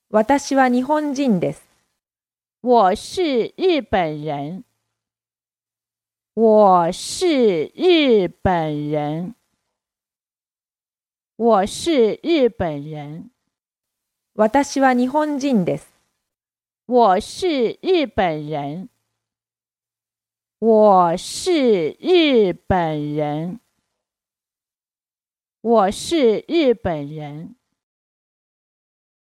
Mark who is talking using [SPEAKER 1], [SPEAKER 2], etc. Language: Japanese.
[SPEAKER 1] 私は日本人です。
[SPEAKER 2] 我是日本人。我是日本人。我是日本人。
[SPEAKER 1] 私は日本人です。
[SPEAKER 2] 我是日本人。我是日本人。我是日本人。